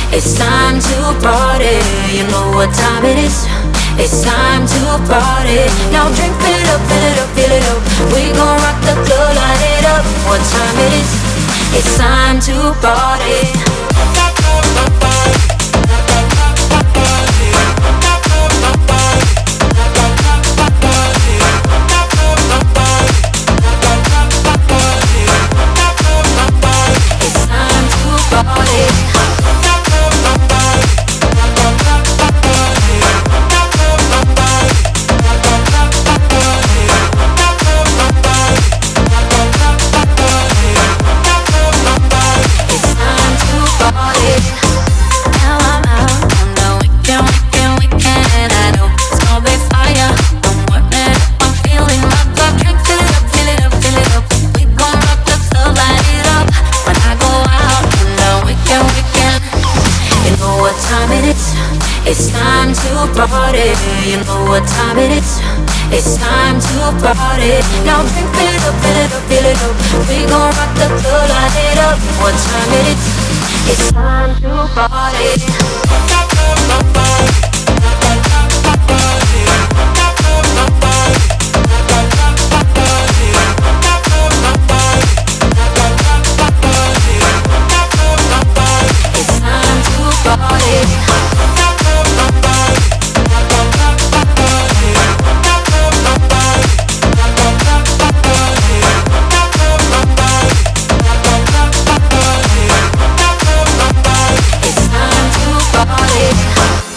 It's time to party. You know what time it is. It's time to party. Now drink, fill it up, fill it up, fill it up. We gon' rock the club, light it up. What time it is? It's time to party. It's time to party. You know what time it is. It's time to party. Now drink, fill it up, fill it up, fill it up. We gon' rock the club, light it up. What time it is? It's time to party. Party.